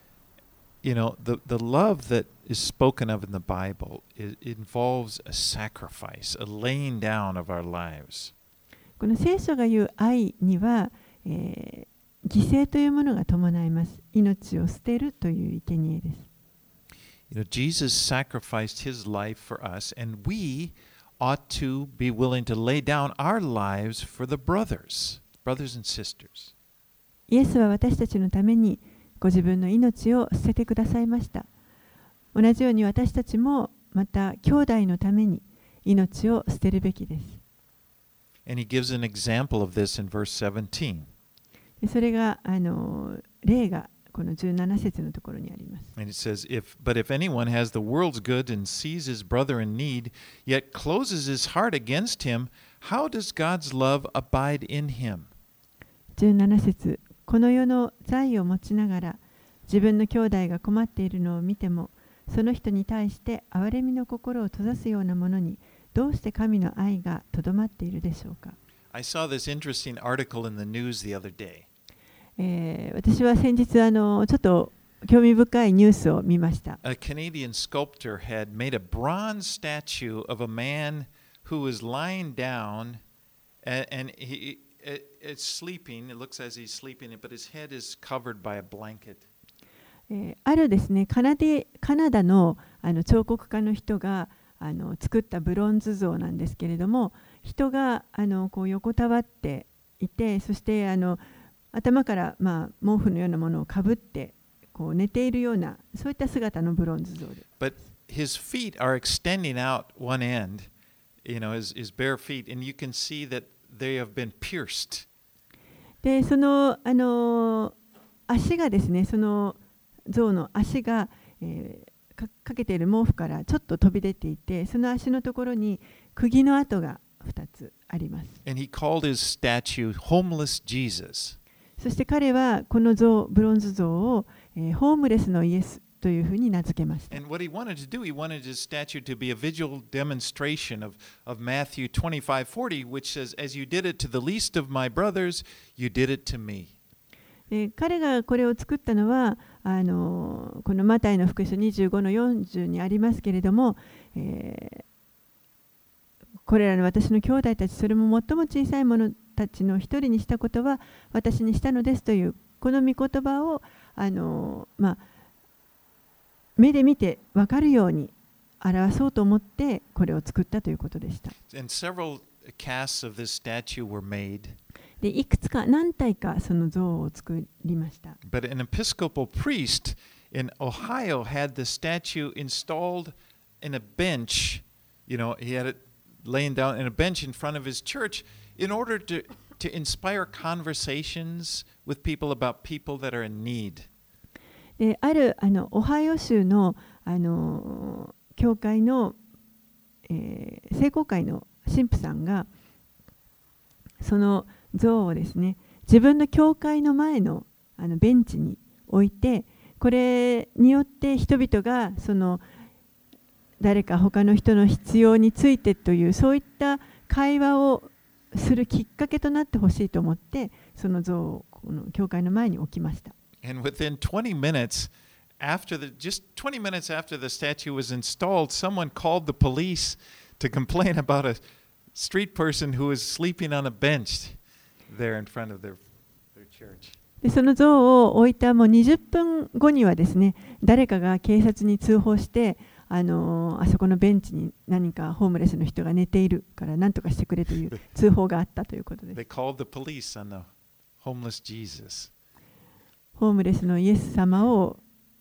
A: You know, the, the love that is spoken of in the Bible it involves a sacrifice, a laying down of our lives.
B: この聖書が言う愛には、えー、犠牲というものが伴います。命を捨てるという生贄です。
A: You know, Jesus sacrificed his life for us, and we ought to be willing to lay down our lives for the brothers, brothers and sisters.
B: イエスは私たちのためにご自分の命を捨ててくださいました。同じように私たちもまた兄弟のために命を捨てるべきです。
A: And he gives an example of this in verse seventeen.
B: それがあの例がこのじゅうなな節のところにあります。
A: And it says, if, but if anyone has the world's good and sees his brother in need, yet closes his heart against him, how does God's love abide in him?
B: じゅうなな節、この世の財を持ちながら自分の兄弟が困っているのを見ても、その人に対して憐れみの心を閉ざすようなものにどうして神の愛がとどまっているでしょうか。
A: I saw this interesting article in the news the other day.
B: えー私は先日あのちょっと興味深いニュースを見ました。
A: A Canadian sculptor had made a bronze statue of a man who was lying down and, and he it, it's sleeping. It looks as he's sleeping, but his head is covered by a blanket.
B: えーあるですね、カナデカナダの、あの彫刻家の人があの作ったブロンズ像なんですけれども、人があのこう横たわっていて、そしてあの頭から、まあ、毛布のようなものをかぶってこう寝ているようなそういった姿のブロンズ像で。
A: But his feet are extending out one end, you know, his, his bare feet, and you can see that they have been pierced.
B: で、そのあの足がですね、その象の足が、えー、か, かけている毛布からちょっと飛び出ていて、その足のところに釘の跡がふたつあります。
A: And he called his statue Homeless Jesus.
B: そして彼はこの像ブロンズ像を、えー、ホームレスのイエスというふうに名付けました。
A: And what he wanted to do, he wanted his statue to be a visual demonstration of, of Matthew twenty-five forty, which says, As you did it to the least of my brothers, you did it to me.
B: で彼がこれを作ったのはあのこのマタイの福音書にじゅうごのよんじゅうにありますけれども、えー、これらの私の兄弟たち、それも最も小さい者たちの一人にしたことは私にしたのですというこの御言葉をあの、まあ、目で見て分かるように表そうと思ってこれを作ったということでした。
A: And several casts of this statue were made.
B: でいくつか何体かその像を作りました。
A: But an Episcopal priest in Ohio had the statue installed in a bench. You know, he had it laying down in a bench in front of his church in order to, to inspire conversations with people about people that are in need.
B: であるあのオハイオ州のあの教会の、えー、聖公会の神父さんがその像をですね、自分の教会の前のあのベンチに置いて、これによって人々がその誰か他の人の必要についてというそういった会話をするきっかけとなってほしいと思って、その像をこの教会の前に置きました。
A: And within twenty minutes after the just twenty minutes after the statue was installed, someone called the police to complain about a street person who was sleeping on a bench there in front of their, their church.
B: でその像を置いたもうにじゅっぷんごにはですね、誰かが警察に通報して、あのー、あそこのベンチに何かホームレスの人が寝ているから何とかしてくれという通報があったということです。
A: They called the police on the homeless Jesus.
B: ホームレスのイエス様を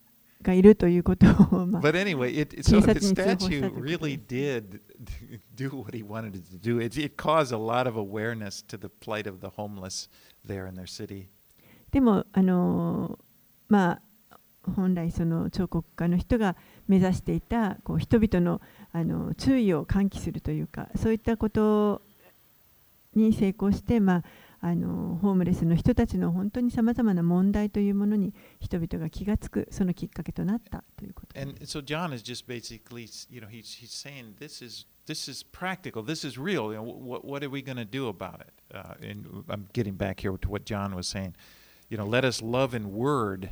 B: がいるということを、まあ、
A: But anyway, it, so
B: 警察
A: the
B: に通報したと
A: statue
B: いうことで
A: really
B: す。
A: did do what he wanted it to do. It, it caused a lot of awareness to the plight of the homeless there in their city.
B: でもあのまあ本来その彫刻家の人が目指していたこう人々のあの注意を喚起するというか、そういったことに成功して、まあ、あのホームレスの人たちの本当にさまざまな問題というものに人々が気がつく、そのきっかけとなったということです。
A: And so John is just basically, you know, he's, he's saying this is, this is practical, this is real. You know, what, what are we going to do about it? Uh, and I'm getting back here to what John was saying. You know, let us love in word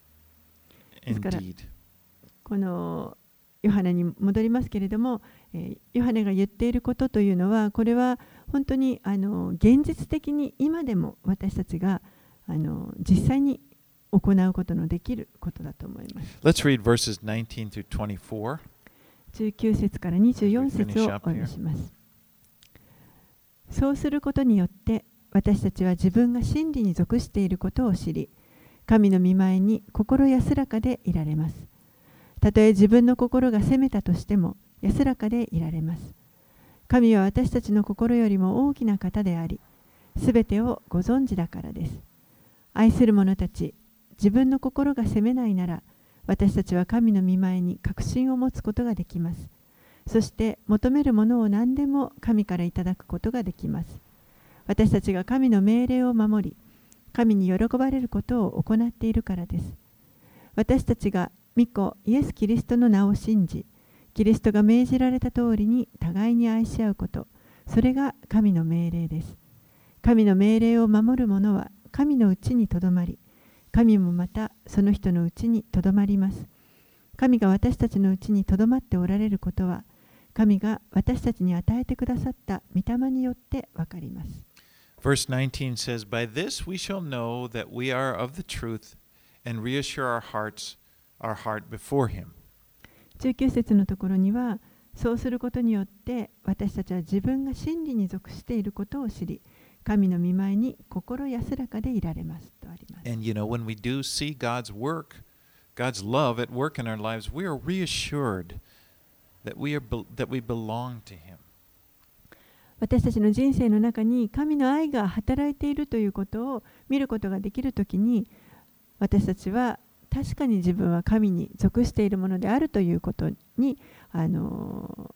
A: and deed.
B: このヨハネに戻りますけれども、えー、ヨハネが言っていることというのは、これは本当にあの現実的に今でも私たちがあの実際に行うことのできることだと思います。
A: Let's read verses nineteen through twenty-four.
B: じゅうきゅう節からにじゅうよん節をお読みします。そうすることによって私たちは自分が真理に属していることを知り、神の御前に心安らかでいられます。たとえ自分の心が責めたとしても安らかでいられます。神は私たちの心よりも大きな方であり、すべてをご存知だからです。愛する者たち、自分の心が責めないなら、私たちは神の御前に確信を持つことができます。そして求めるものを何でも神からいただくことができます。私たちが神の命令を守り、神に喜ばれることを行っているからです。私たちが御子イエス・キリストの名を信じ、キリストが命じられた通りに互いに愛し合うこと、それが神の命令です。神の命令を守る者は神のうちにとどまり、神もまたその人のうちにとどまります。神が私たちのうちにとどまっておられることは、神が私たちに与えてくださった御霊によってわかります。
A: Verse nineteen says, By this we shall know that we are of the truth and reassure our hearts, our heart before Him.
B: じゅうきゅう節のところには、そうすることによって私たちは自分が真理に属していることを知り、神の御前に心安らかでいられますとあります。
A: And you know, when we do see God's work, God's love at work in our lives, we are reassured that we are that we belong to Him.
B: 私たちの人生の中に神の愛が働いているということを見ることができるときに、私たちは確かに自分は神に属しているものであるということにあの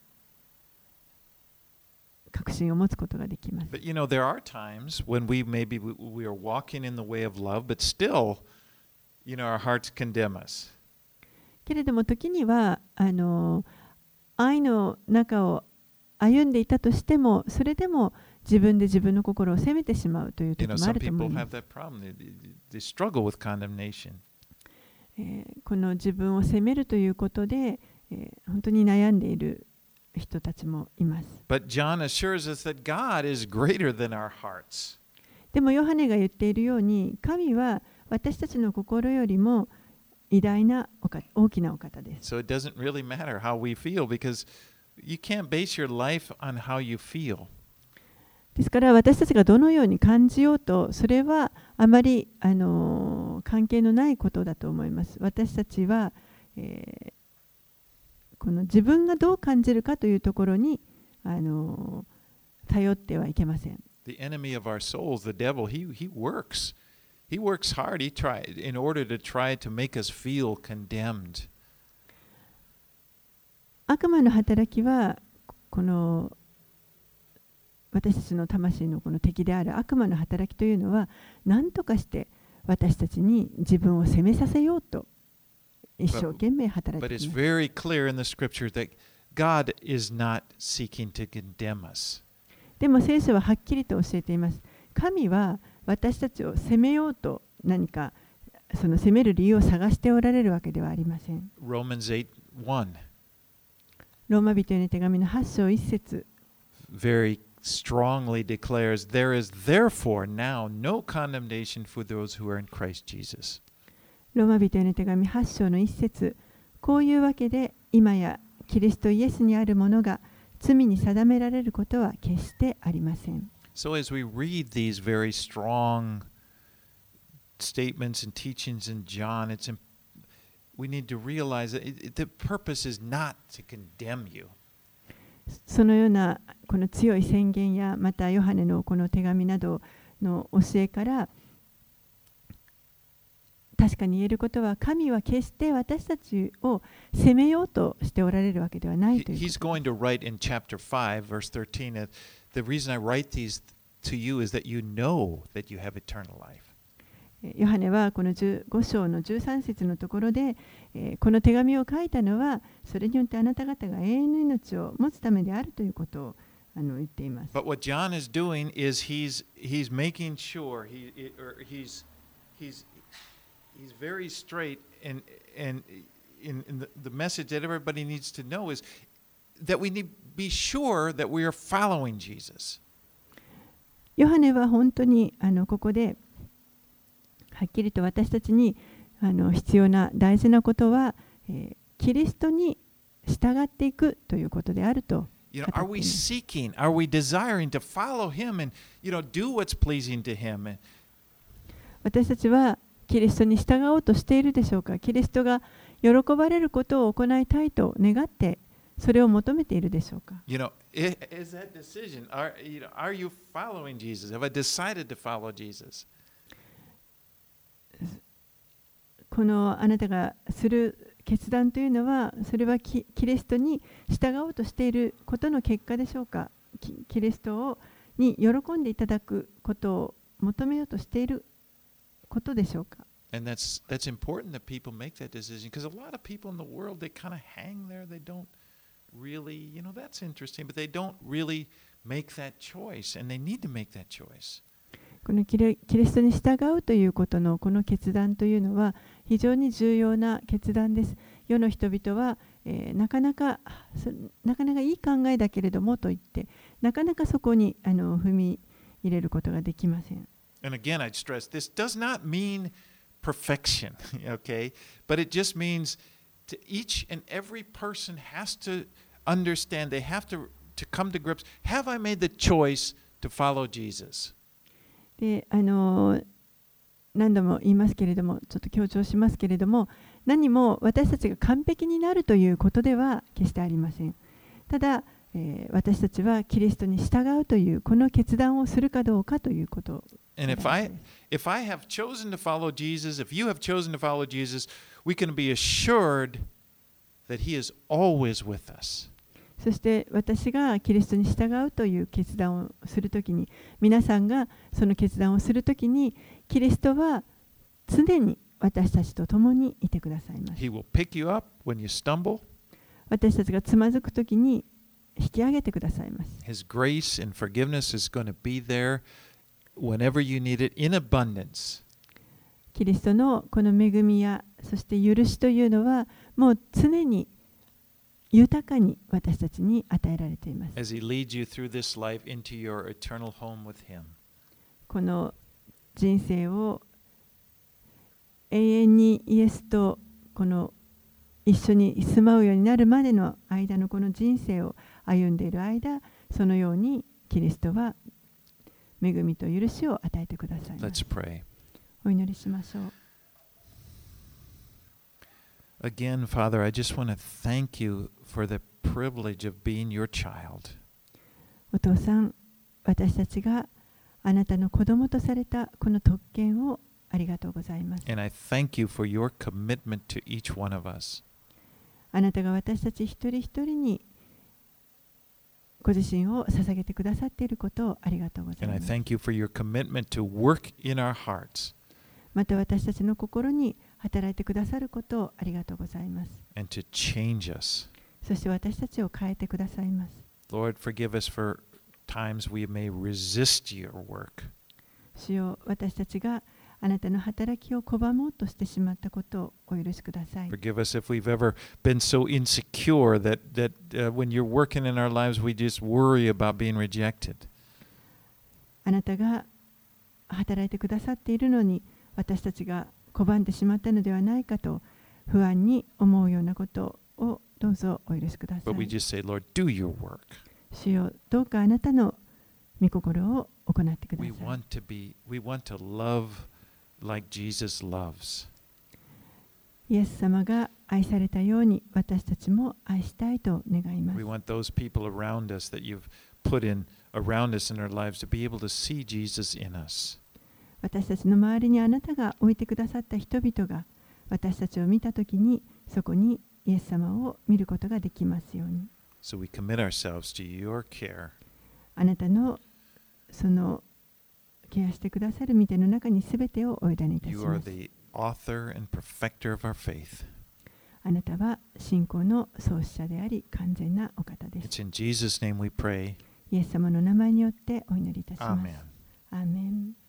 B: 確信を持つことができます。
A: But you know, there are times when we maybe we, we are walking in the way of love, but still, you know, our hearts condemn us.
B: けれども時にはあの愛の中を歩んでいたとしても、それでも自分で自分の心を責めてしまうという時
A: You know,
B: もあ
A: some
B: ると思い
A: people
B: ま
A: have
B: す。
A: that problem. They, they struggle with condemnation.
B: えーこの自分を責めるということで、えー本当に悩んでいる人たちもいます。
A: But John assures us that God is greater than our hearts.
B: でもヨハネが言っているように、神は私たちの心よりも偉大なお方、大きなお方です。
A: So it doesn't really matter how we feel because you can't base your life on how you feel.
B: ですから私たちがどのように感じようと、それはあまり、あのー関係のないことだと思います。私たちは、えーこの自分がどう感じるかというところに、あのー頼ってはいけません。
A: The enemy of our souls, the devil, he, he works. He works hard. He try, in order to try to make us feel condemned.
B: 悪魔の働きはこの私たちの魂のこの敵である悪魔の働きというのは、何とかして私たちに自分を責めさせようと一生懸命働い
A: But
B: て
A: it's
B: います。
A: very clear in the scripture that God is not seeking to condemn us.
B: でも聖書ははっきりと教えています。神は私たちを責めようと何かその責める理由を探しておられるわけではありません。
A: Romans eight one
B: ローマ人への手紙のはち章いち節
A: very strongly declares, There is therefore now no condemnation for those who are in Christ Jesus.
B: ローマ人への手紙はち章のいち節、こういうわけで今やキリストイエスにあるものが罪に定められることは決してありません。
A: So as we read these very strong statements and teachings in John, it's we need to realize that it, it, the purpose is not to condemn you.
B: そのようなこの強い宣言やまたヨハネのこの手紙などの教えから確かに言えることは、神は決して私たちを責めようとしておられるわけではないということです。
A: He's going to write in chapter five, verse thirteen, that the reason I write these to you is that you know that you have eternal life.
B: ヨハネはこのじゅうご章のじゅうさん節のところで、えー、この手紙を書いたのはそれによってあなた方が永遠の命を持つためであるということをあの言っています。
A: But what John is doing is he's he's making sure he or he's he's he's very straight and and in, in the, the message that everybody needs to know is that we need to be sure that we are following Jesus.
B: ヨハネは本当にあのここではっきりと私たちにあの必要な大事なことは、えー、キリストに従っていくということであると。
A: You know, are we seeking, are we desiring to follow him and, you know, do what's pleasing to him?
B: 私たちはキリストに従おうとしているでしょうか。キリストが喜ばれることを行いたいと願ってそれを求めているでしょうか。
A: You know, is that decision, are, you know, are you following Jesus? Have I decided to follow Jesus?
B: このあなたがする決断というのは、それは キ, キリストに従おうとしていることの結果でしょうか。 キ, キリストをに喜んでいただくことを求めようとしていることでしょうか。
A: And that's, that's important that people make that decision because a lot of people in the world, they kind of hang there. They don't really, you know, that's interesting, but they don't really make that choice and they need to make that choice.
B: このキリストに従うということのこの決断というのは非常に重要な決断です。世の人々は、えー、なかなかなかなかいい考えだけれどもと言ってなかなかそこにあの踏み入れることができません。
A: And again, I'd stress this does not mean perfection, okay? But it just means to each and every person has to understand, they have to, to come to grips. Have I made the choice to follow Jesus?
B: であの何度も言いますけれども、ちょっと強調しますけれども、何も私たちが完璧になるということでは決してありません。ただ、えー、私たちはキリストに従うというこの決断をするかどうかということ。
A: And if I, if I have chosen to follow Jesus, if you have chosen to follow Jesus, we can be assured that He is always with us.
B: そして私がキリストに従うという決断をするときに、皆さんがその決断をするときに、キリストは常に私たちと共にいてくださいます。
A: He will pick you up when you stumble.
B: 私たちがつまずくときに引き上げてくださいます。
A: His grace and forgiveness is going to be there whenever you need it in abundance.
B: キリストのこの恵みや、そして許しというのは、もう常に豊かに私たちに与えられています。
A: As He leads you through this life into your eternal home with Him.
B: この人生を永遠にイエスとこの一緒に住まうようになるまでの間のこの人生を歩んでいる間、そのようにキリストは恵みと許しを与えてくださいます。
A: Let's pray.
B: お祈りしましょう。
A: Again, Father, I just want to thank you for the privilege of being your child.
B: お父さん、私たちがあなたの子供とされたこの特権をありがとうございます。
A: And I thank you for your commitment to each one of us.
B: あなたが私たち一人一人にご自身を捧げてくださっていることをありがとうござい
A: And I
B: ます。
A: thank you for your commitment to work in our hearts
B: また私たちの心に働いてくださることをありがとうございます。
A: and to change us.
B: そして私たちを変えてくださいます。
A: Lord, forgive us for times we may resist your work.
B: 主よ、私たちがあなたの働きを拒もうとしてしまったことをお許しください。
A: Forgive us if we've ever been so insecure that, that uh, when you're working in our lives, we just worry about being rejected.
B: あなたが働いてくださっているのに、私たちが拒んでしまったのではないかと不安に思うようなことをどうぞお許しくださ
A: But we
B: い。
A: just say, Lord, do your work.
B: 主よ、どうかあなたの御心を行ってくだ
A: We
B: さい。
A: want to be, we want to love like Jesus loves.
B: イエス様が愛されたように私たちも愛したいと願います。
A: We want those people around us that you've put in around us in our lives to be able to see Jesus in us.
B: 私たちの周りにあなたが置いてくださった人々が私たちを見たときにそこにイエス様を見ることができますように。
A: So we commit ourselves to your care.
B: あなたのそのケアしてくださる御手の中にすべてをお委ねいたし
A: You
B: ま
A: are
B: す。
A: the author and perfecter of our faith.
B: あなたは信仰の創始者であり完全なお方です。
A: It's in Jesus' name we pray.
B: イエス様の名前によってお祈りいたします。
A: Amen.
B: アーメン。